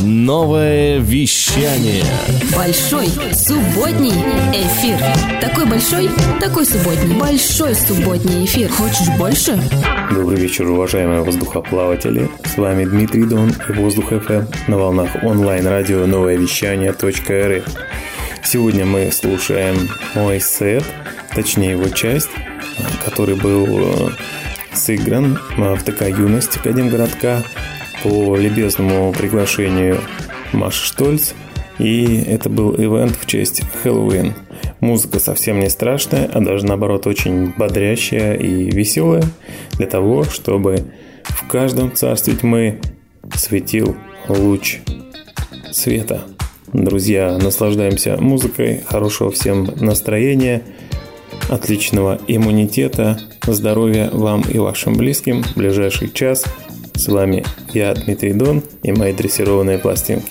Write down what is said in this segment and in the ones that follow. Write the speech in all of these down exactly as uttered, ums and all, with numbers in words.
Новое вещание. Большой субботний эфир. Такой большой, такой субботний. Большой субботний эфир. Хочешь больше? Добрый вечер, уважаемые воздухоплаватели. С вами Дмитрий Дон и Воздух эф эм на волнах онлайн-радио новое вещание точка эр эф. Сегодня мы слушаем мой сет, точнее его часть, который был сыгран в ТК «Юность» Академгородка по любезному приглашению Маши Штольц. И это был ивент в честь Хэллоуин. Музыка совсем не страшная, а даже наоборот очень бодрящая и веселая, для того, чтобы в каждом царстве тьмы светил луч света. Друзья, наслаждаемся музыкой, хорошего всем настроения, отличного иммунитета, здоровья вам и вашим близким в ближайший час. С вами я, Дмитрий Дон, и мои дрессированные пластинки.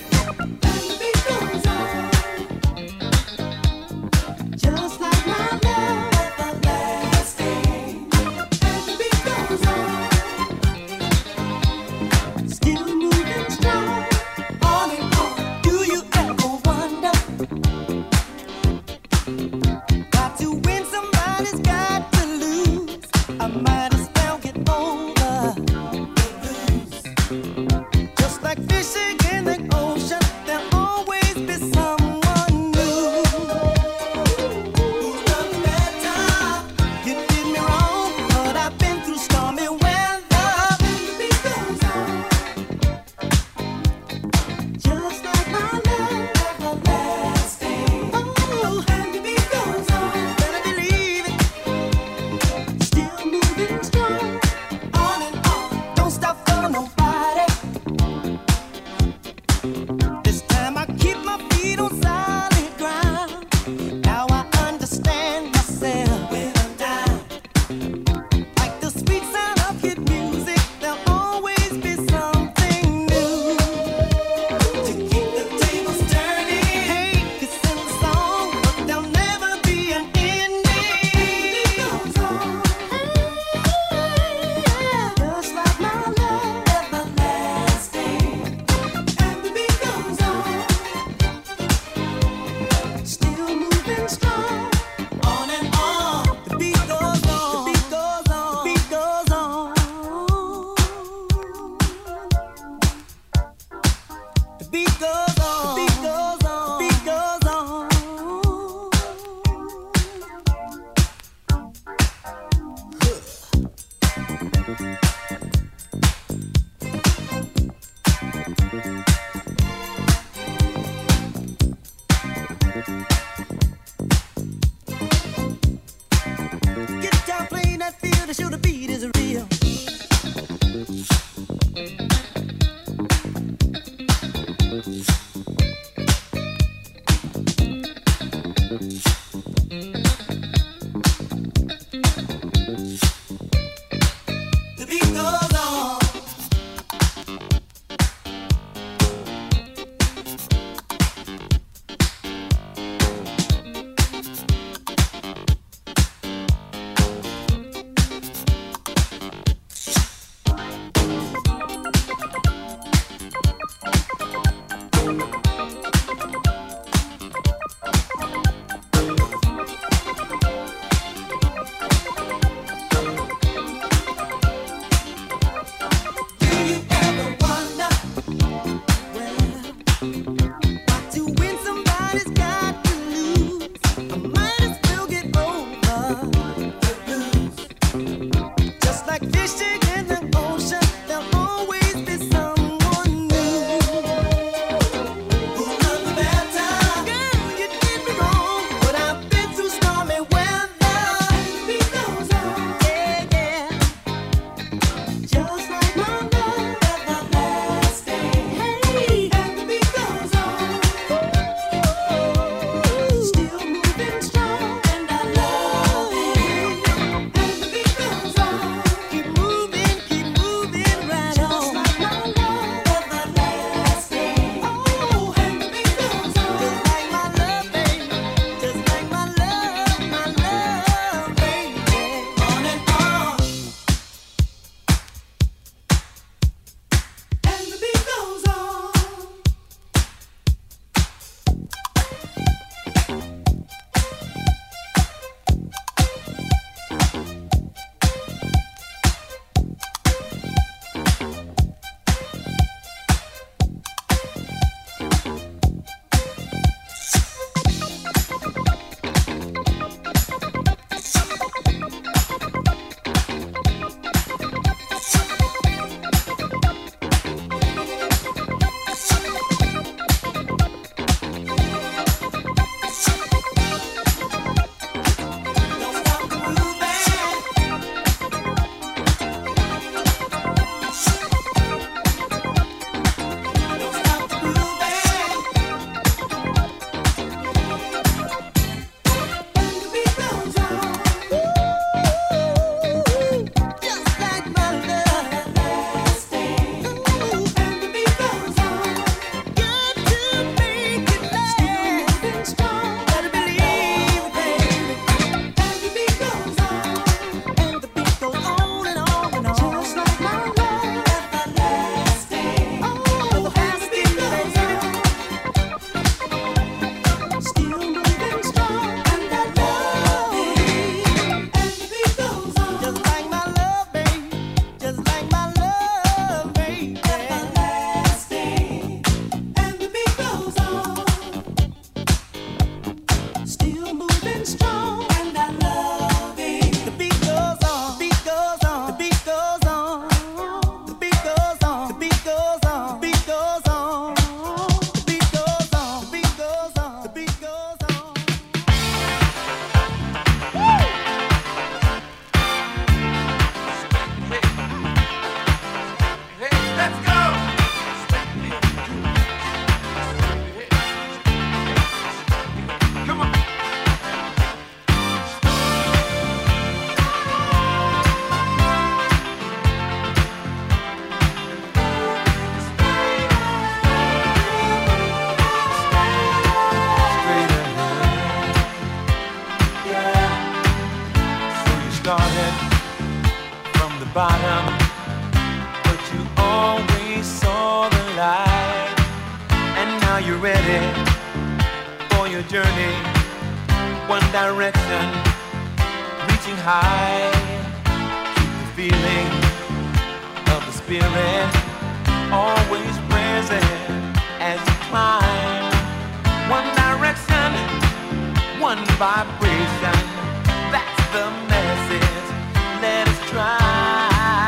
now you're ready for your journey. One direction, reaching high. Keep the feeling of the spirit always present as you climb. One direction, one vibration. That's the message. Let us try.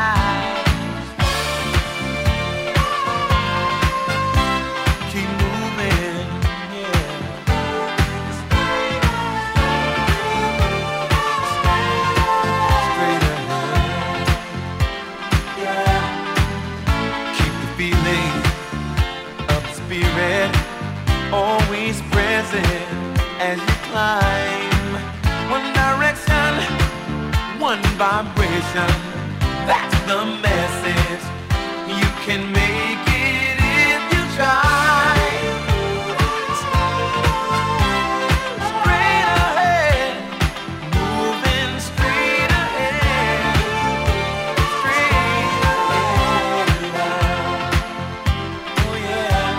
Always present as you climb. One direction, one vibration. That's the message. You can make it if you try. Straight ahead, moving straight ahead, straight ahead. Oh yeah.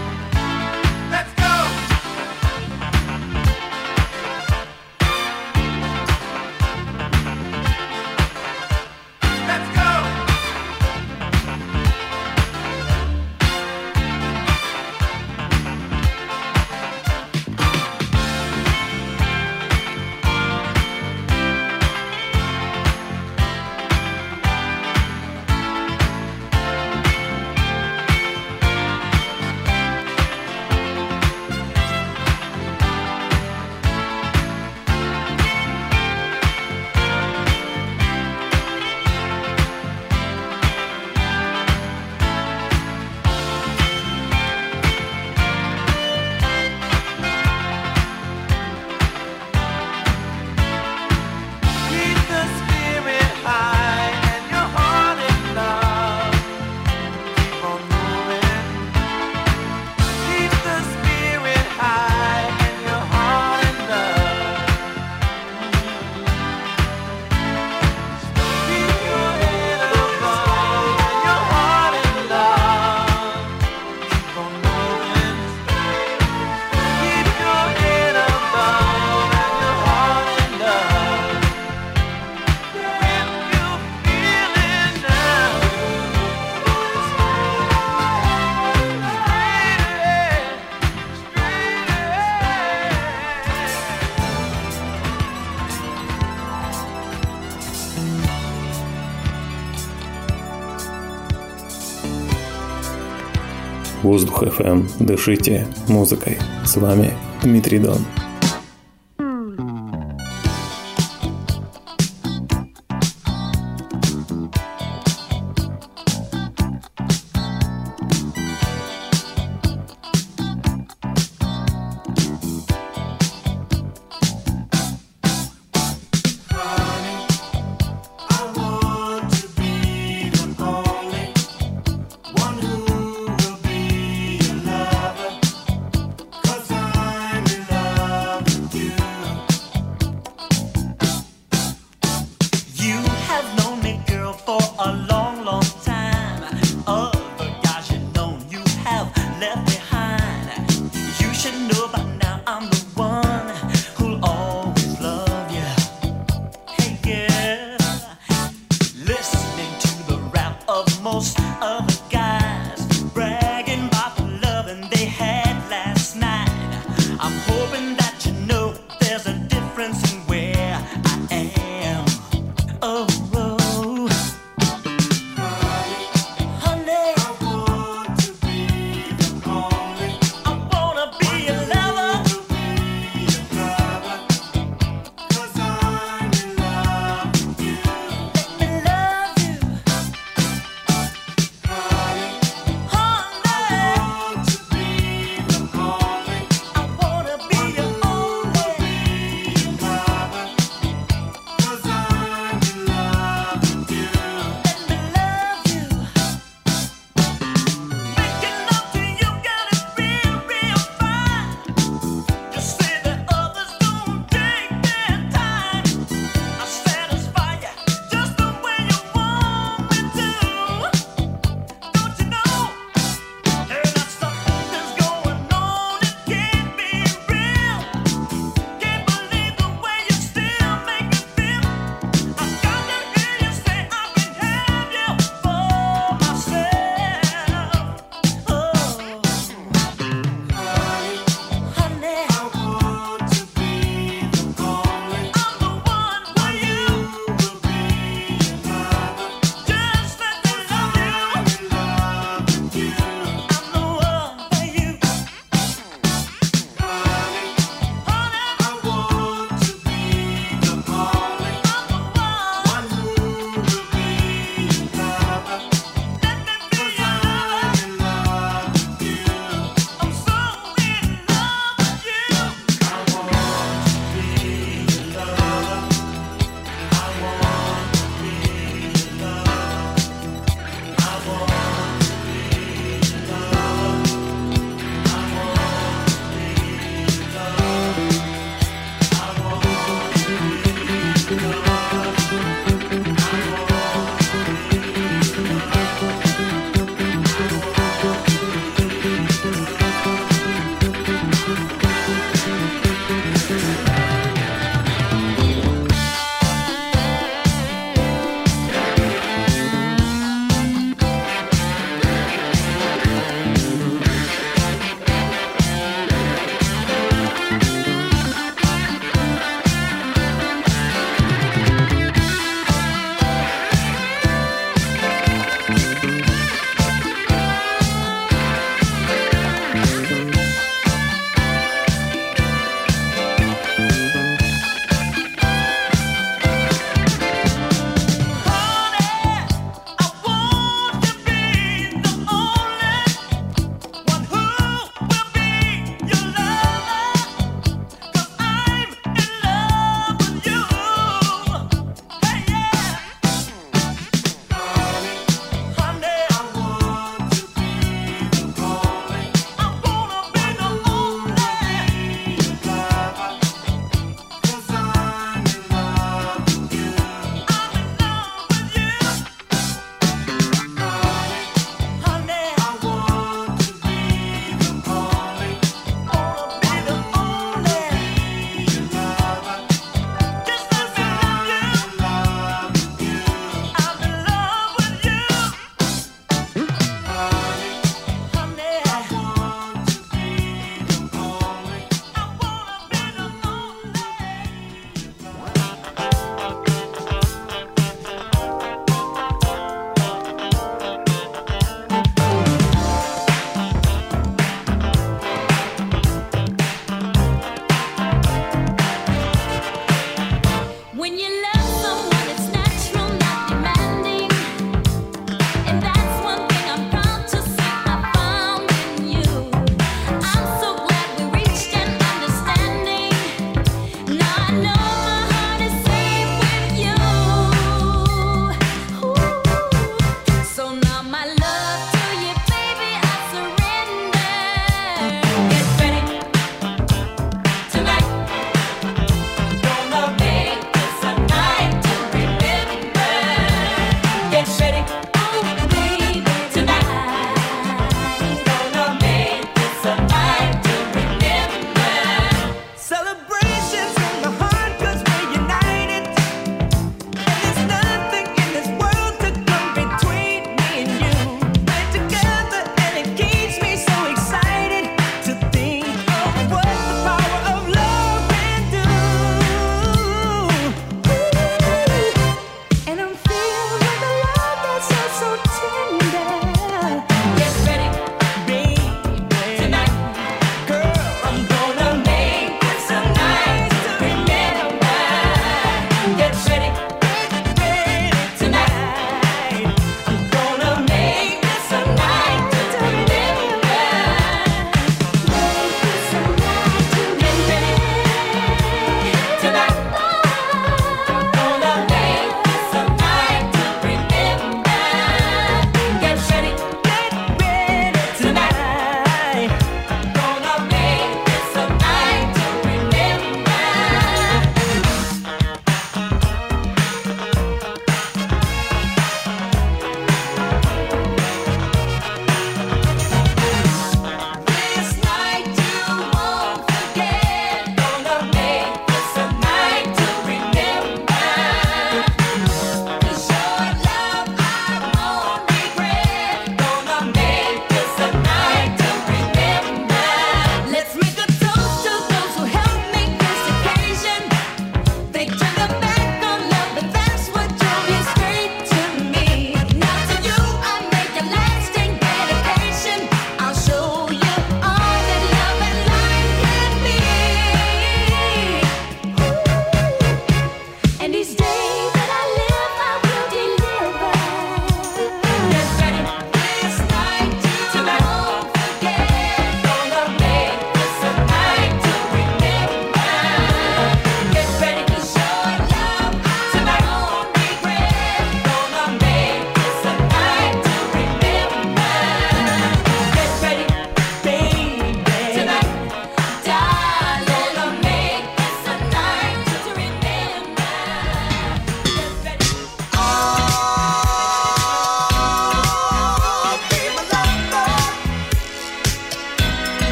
Воздух эф эм. Дышите музыкой. С вами Дмитрий Дон.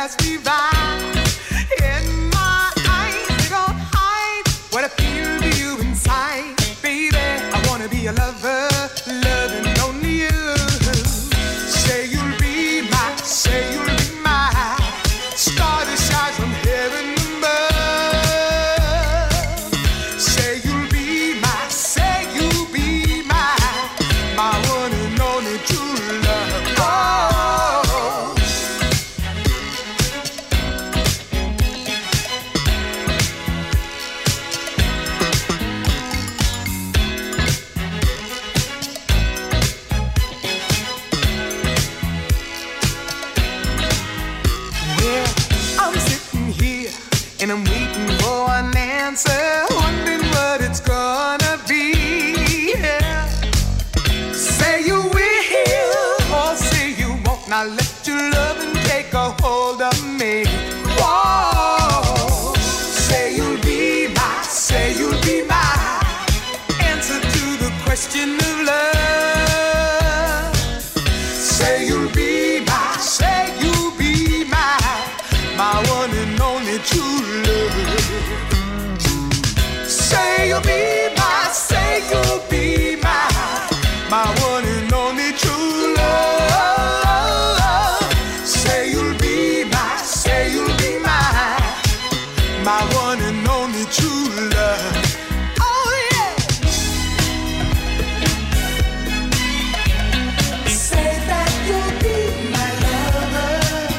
pass me by. In my eyes, they don't hide what I feel for you inside. Baby, I wanna be a lover, loving only you. Say you'll be my, say you'll be my star that shines from heaven above. Say you'll be my, say you'll be my, my one and only true love. Oh. And I'm waiting for an answer, wondering what it's gonna be. Yeah. Say you will, or say you won't. Now let your loving take a hold of me. Whoa. Say you'll be my, say you'll be my answer to the question of love. Say you'll be my, say you'll be my, my one and only true. Say you'll be my, say you'll be my, my one and only true love. Say you'll be my, say you'll be my, my one and only true love. Oh yeah. Say that you'll be my lover.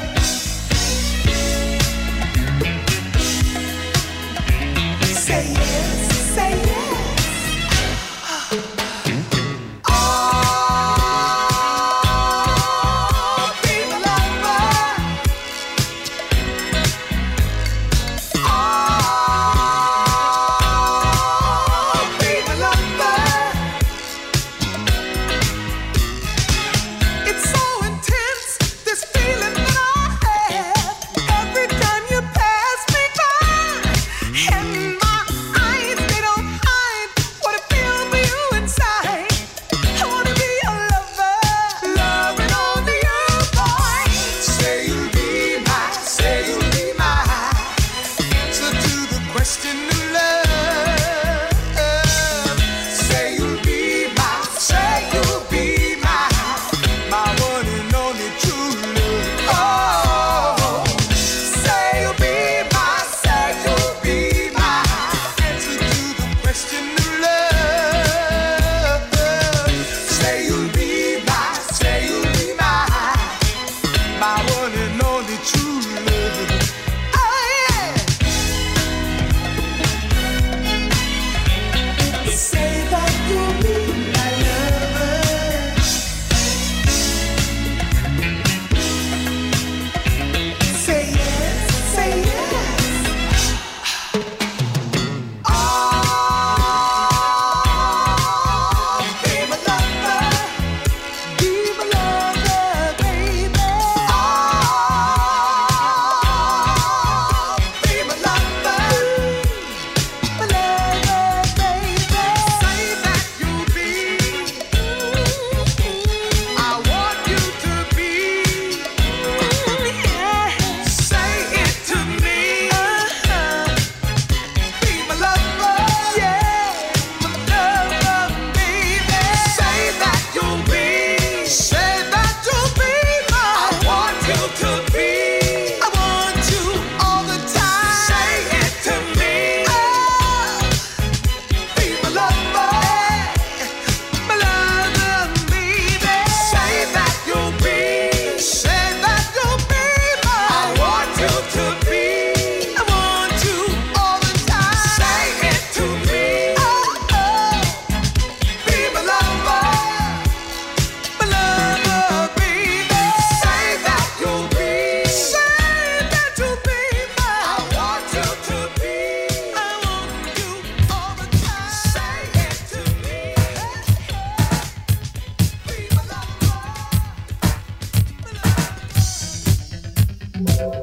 Say yes, say yes. Oh, be my lover. Oh, be my lover. It's so intense, this feeling that I have every time you pass me by. And my eyes, they don't hide what I feel for you inside. I wanna be your lover, loving only you, boy. Say you'll be my, say you'll be my answer to the question of love. Say you'll be my, say you'll be my, my one and only true love. Oh, say you'll be my, say you'll be my answer to the question of love. Say you'll be my, say you'll be my, my one and only true love. Oh yeah. Say that you'll be my lover. Say yes, say yes. Oh, be my lover, be my lover, baby. Oh, be my lover, my lover, baby. Say that you'll be, I want you to be. Say it to me. Be my lover, yeah, my lover, baby. Say that you'll be, say that you'll be my. I want you to be, I want you all the time. Say it to me. Be my lover, my lover, baby. Say that you'll be, say that you'll be my. I want you to be, I want you all the time. Say it to me. Oh, oh. Be my lover, my lover, baby. Say that you'll be, say that you'll be my. I want you to be, I want you all the time. Say it to me. Be my lover, my lover.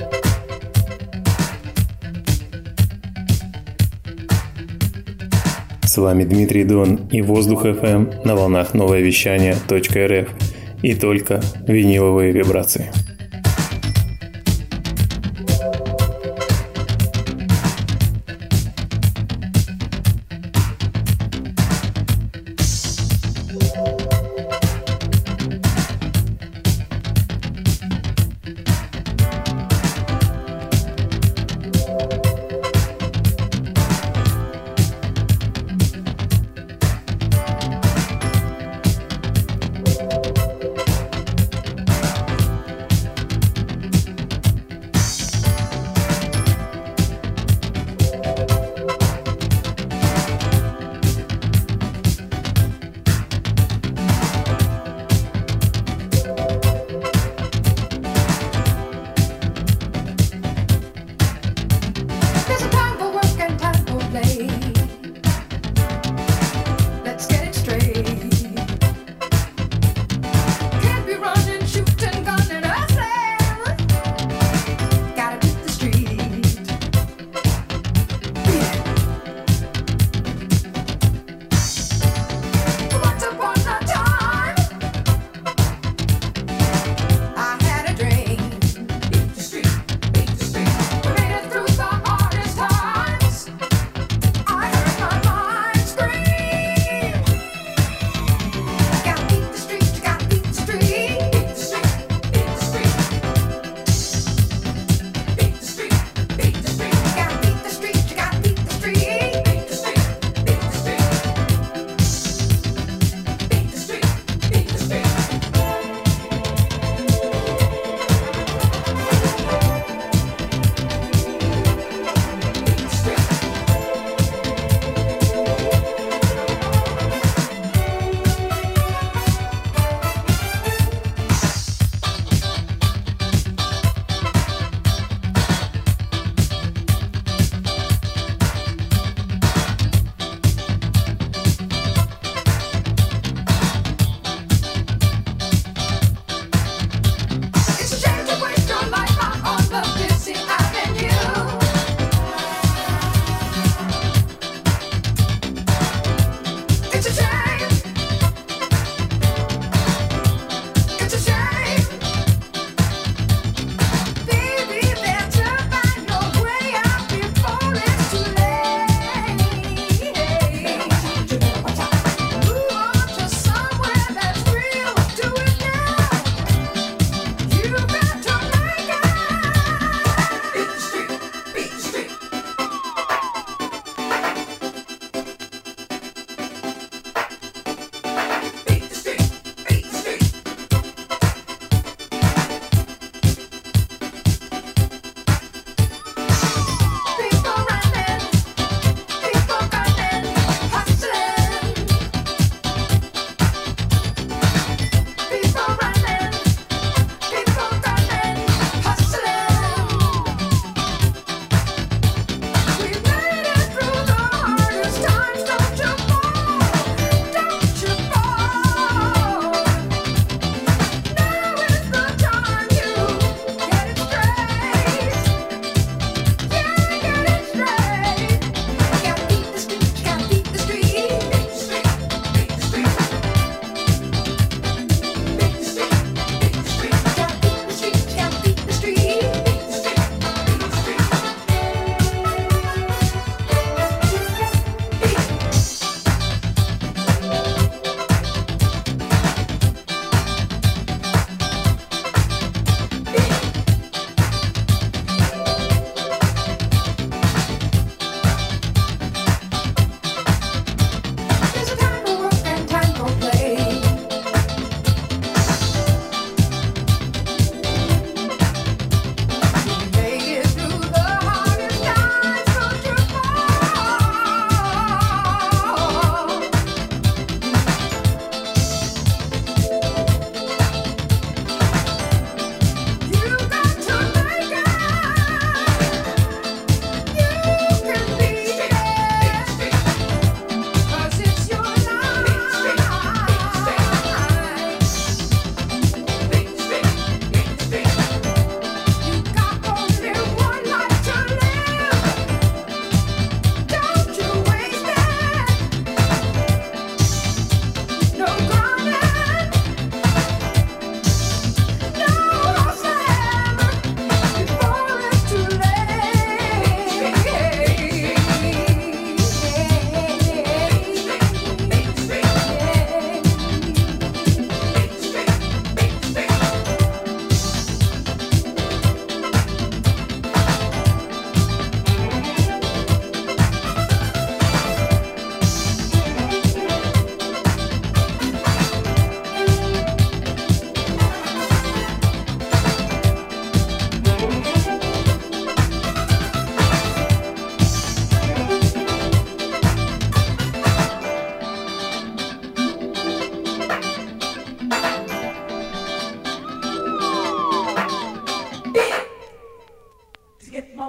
С вами Дмитрий Дон и Воздух эф эм на волнах новое вещание .рф. И только виниловые вибрации.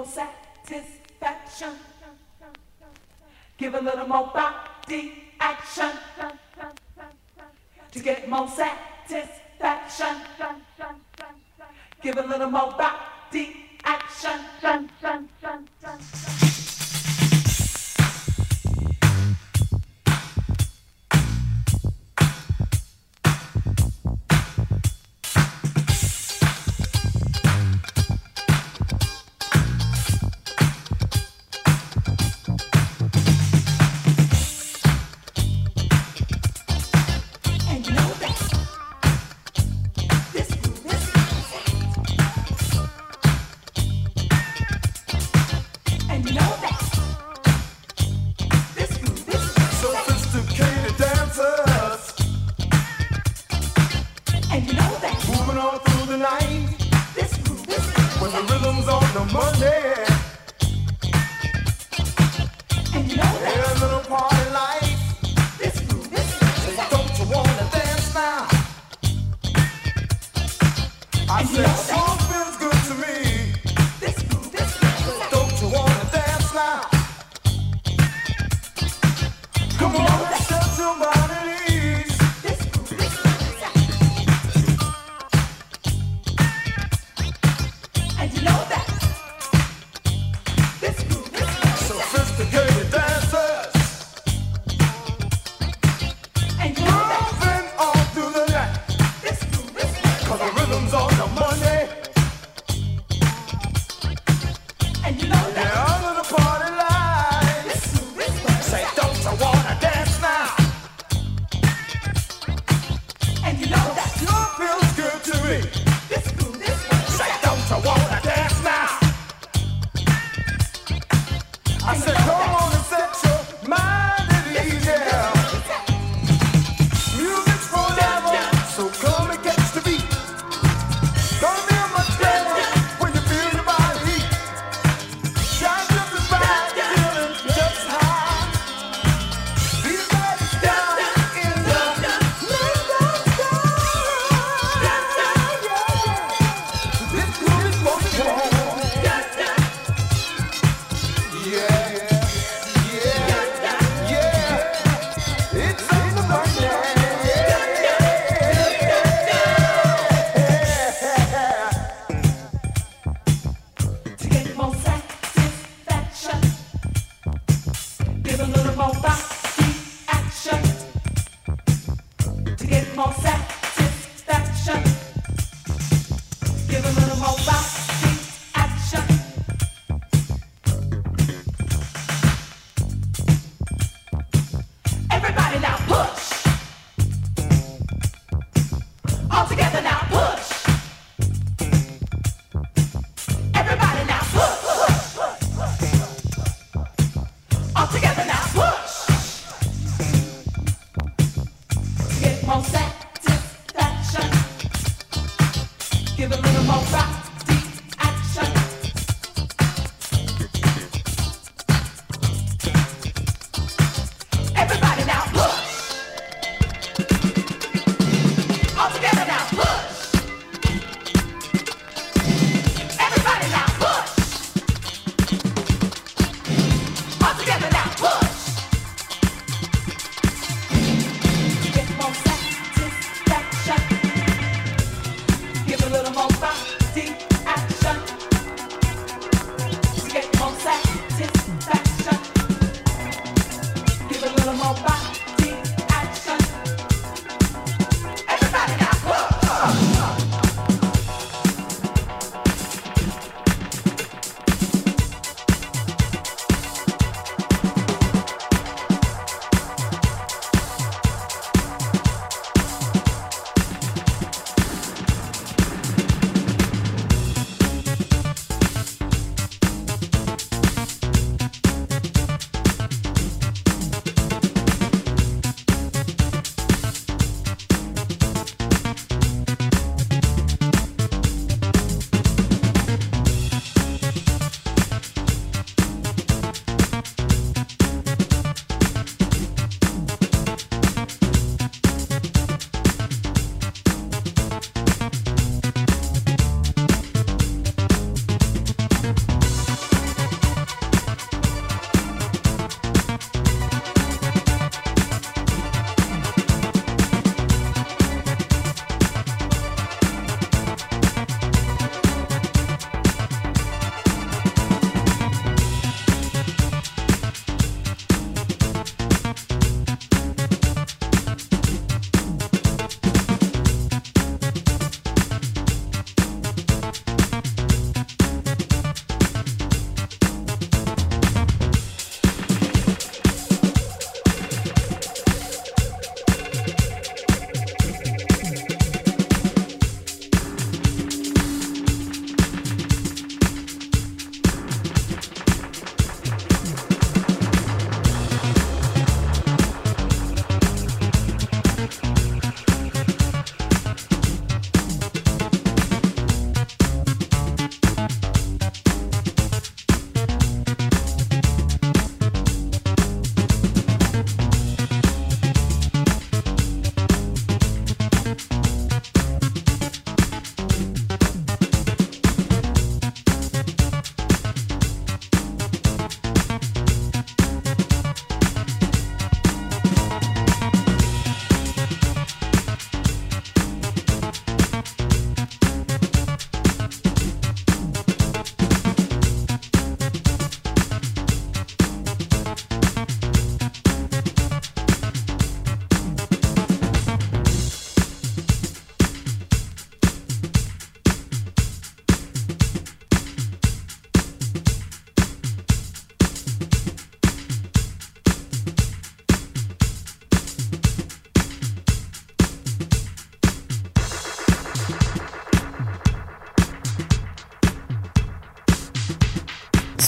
more satisfaction. Give a little more body action. To get more satisfaction. Give a little more body action.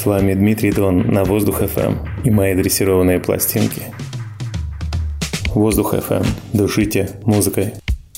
С вами Дмитрий Дон на Воздух эф эм и мои дрессированные пластинки. Воздух эф эм. Душите музыкой.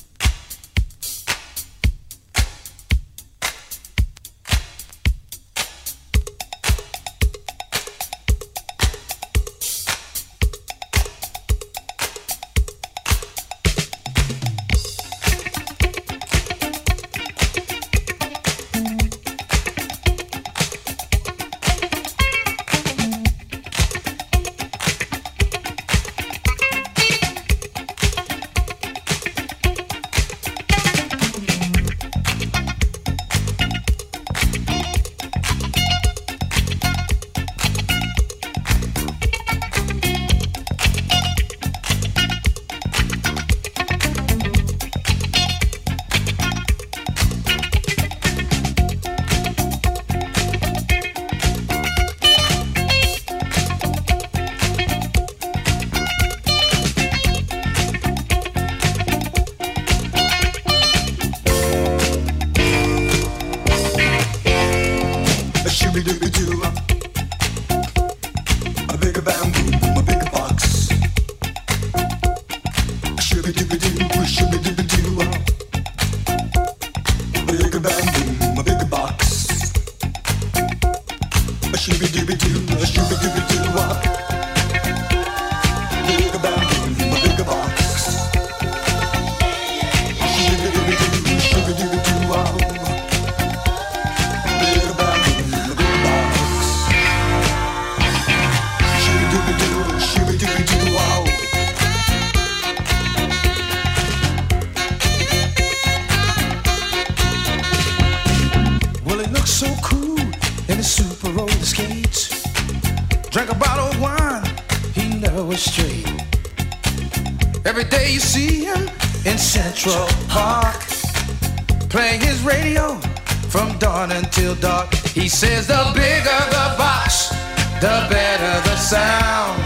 He says the bigger the box, the better the sound.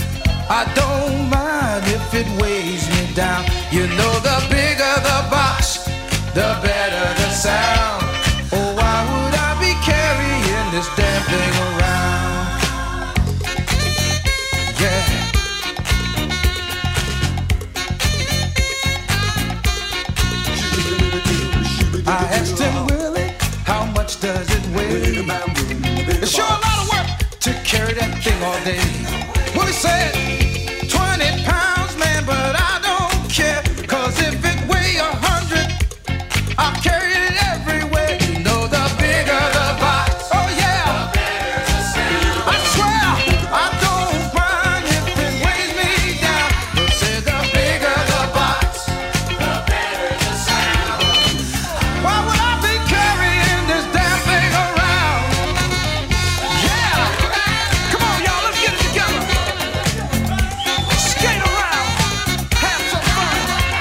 I don't mind if it weighs me down. You know the bigger the box, the better the sound. Oh, why would I be carrying this damn thing around? Yeah. I asked him, Willie, how much does it weigh? It's sure a lot of work to carry that thing all day. Well, he said, twenty pounds, man, but I don't care. Cause if it weigh a hundred, I'll carry it everywhere. You know the bigger the box, oh yeah, I swear I don't mind if it weighs me down. But say the bigger the box, the better the sound. Why would I be carrying this damn thing around? Yeah, come on y'all, let's get it together. Skate around, have some fun.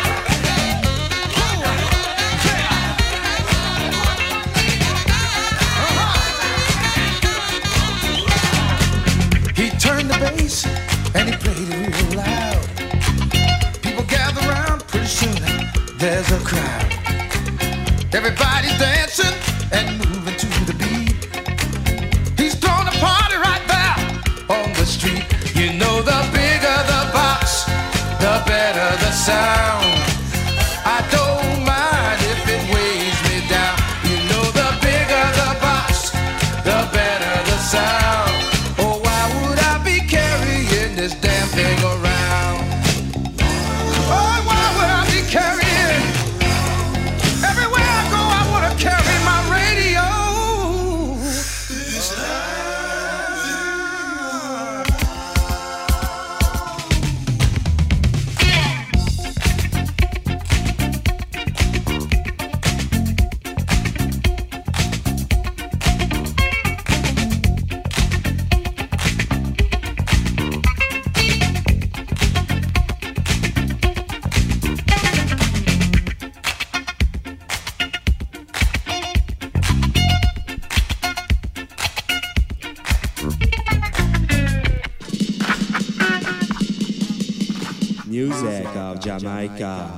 He turned the bass and he played it real loud. People gather around, pretty soon there's a crowd. Everybody's dancing and moving to the beat. He's throwing a party right there on the street. You know the bigger the box, the better the sound. I don't mind if it weighs me down. You know the bigger the box, the better the sound. Oh, why would I be carrying this damn thing around? Oh, why would I be carrying? Everywhere I go, I want to carry my radio. Music of Jamaica.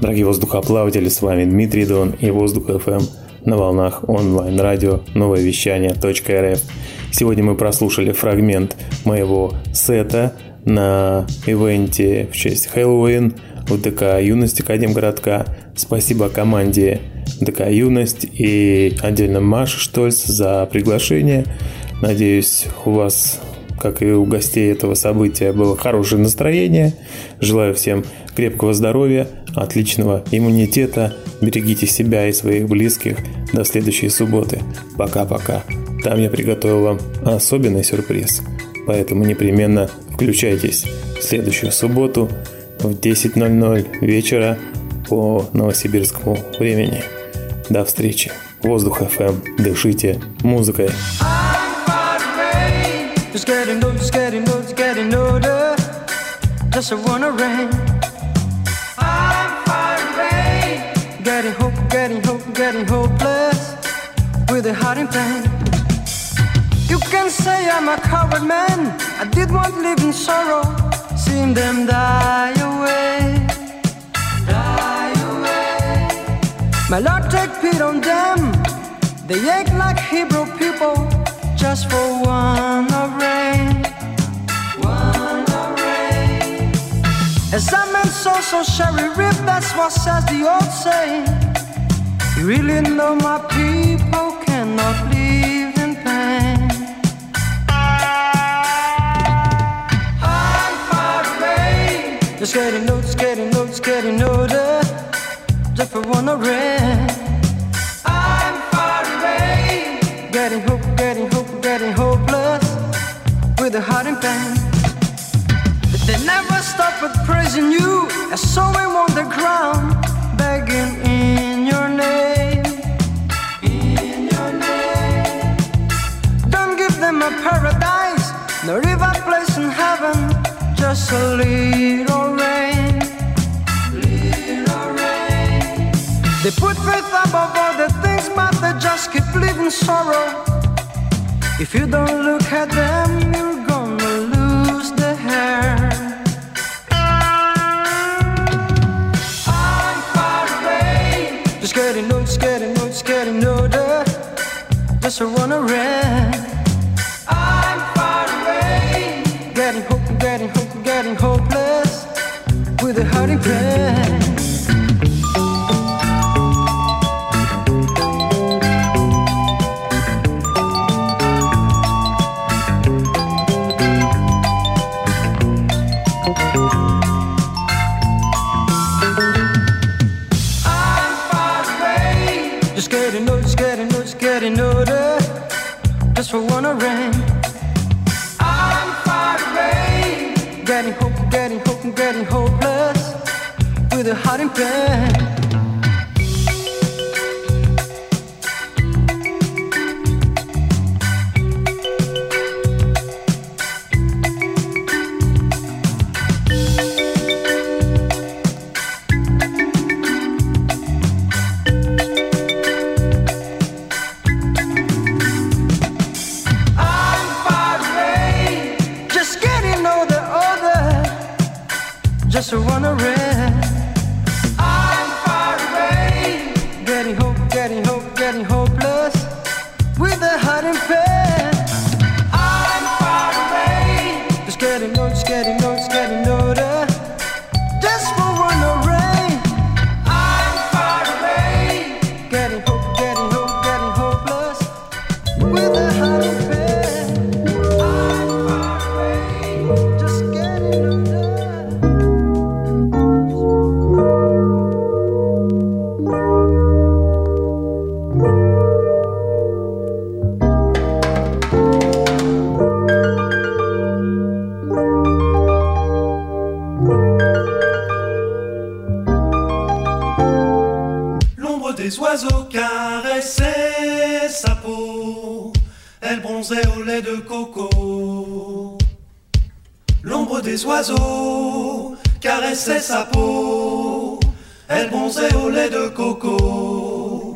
Дорогие воздухоплаватели, с вами Дмитрий Дон и Воздух эф эм на волнах онлайн-радио новое вещание точка эр эф. Сегодня мы прослушали фрагмент моего сета на ивенте в честь Хэллоуин в ДК «Юность» Академгородка. Спасибо команде ДК «Юность» и отдельно Маше Штольц за приглашение. Надеюсь, у вас, как и у гостей этого события, было хорошее настроение. Желаю всем крепкого здоровья, отличного иммунитета. Берегите себя и своих близких. До следующей субботы. Пока-пока. Там я приготовил вам особенный сюрприз. Поэтому непременно включайтесь в следующую субботу в десять ноль ноль вечера по новосибирскому времени. До встречи. Воздух эф эм. Дышите музыкой. Just getting old, just getting old, just getting older. Just wanna rain. I'm far away. Getting hope, getting hope, getting hopeless. With a heart in pain. You can say I'm a coward man. I did not live in sorrow. Seeing them die away. Die away. My Lord, take pity on them. They act like Hebrew people. Just for one of rain, one of rain. As a man so so sherry rip, that's what says the old saying. You really know my people cannot live in pain. I'm far away. Just getting old, just getting old, just getting older. Just for one of rain. I'm far away. Getting hope, getting hope. Getting hopeless with a heart in pain. But they never stop with praising you as sowing on the ground, begging in your name, in your name. Don't give them a paradise, nor even a place in heaven, just a little rain, little rain. They put faith above all the things, but they just keep living sorrow. If you don't look at them, you're gonna lose the hair. I'm far away. Just getting old, just getting old, just getting older. Just a wanna run. I'm far away. Getting hope, getting hope, getting hopeless. With a heart in pain. Just for one rain. I'm far away. Getting hope, getting hope, getting hopeless. With a heart in pain. Just wanna rest. I'm far away. Getting hope, getting hope, getting hopeless. With a heart in pain. I'm far away. Just getting old, just getting old, just getting older. Just for one rain. I'm far away. Getting hope, getting hope, getting hopeless. With a heart in pain. I'm far away. Just getting older. Les oiseaux caressaient sa peau, elle bronzait au lait de coco. L'ombre des oiseaux caressait sa peau, elle bronzait au lait de coco.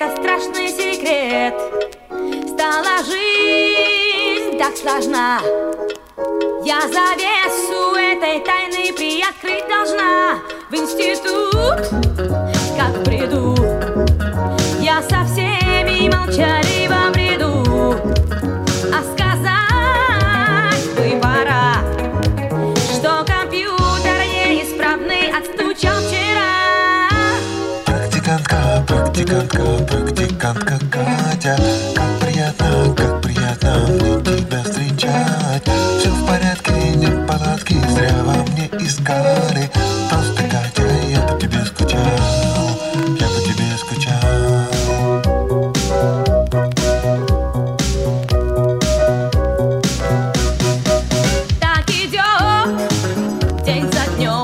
это страшный секрет. Стала жизнь так сложна. Я завесу этой тайны приоткрыть должна. В институт, как приду, я со всеми молчаливо бреду. А сказать бы пора, что компьютер неисправный отстучал вчера. Практикантка, практикантка, практикантка Катя, как приятно, как приятно мне тебя встречать. Все в порядке, нет палатки, зря во мне искали. Просто, Катя, я по тебе скучал, я по тебе скучал. Так идет день за днем,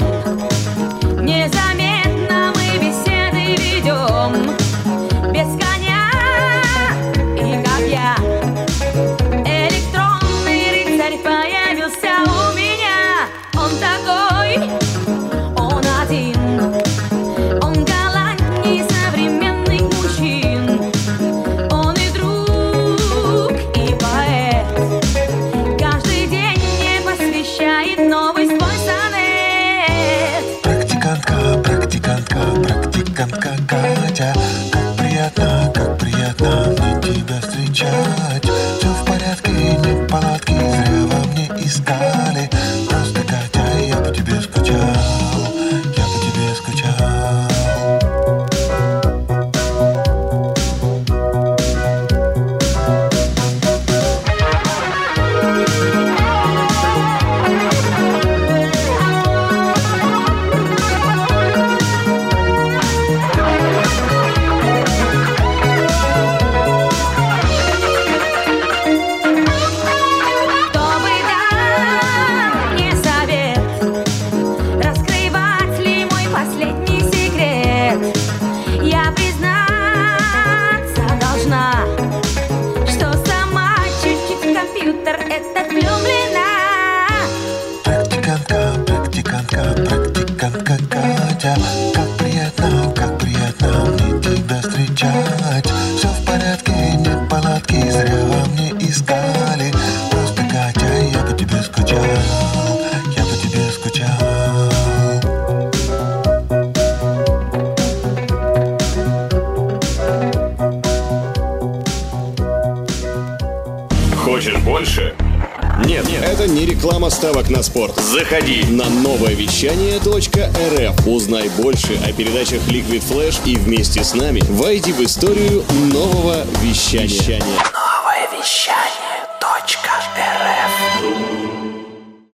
незаметно мы беседы ведем. Без коня и копья электронный рыцарь появился у меня. Он такой, он один, он галантней современных мужчин. Он и друг, и поэт, каждый день мне посвящает новый свой сонет. Практикантка, практикантка, практикантка Катя, как приятно, как приятно мне тебя встречать. Все в порядке, нет палатки, зря во мне искали. Просто, Катя, я по тебе скучал, я по тебе скучал. Кто бы дал мне совет, раскрывать ли мой последний секрет? Я признаться должна, что сама чуть-чуть в компьютер этот влюблена. Практикантка, практикантка, практикантка Катя, как приятно, как приятно мне тебя встречать. Все в порядке, нет палатки, зря во мне искали. Просто, Катя, я по тебе скучал, я по тебе скучал. Хочешь больше? Нет, нет, это не реклама ставок на спорт. Заходи на новое вещание точка эр эф. Узнай больше о передачах Liquid Flash и вместе с нами войди в историю нового вещания.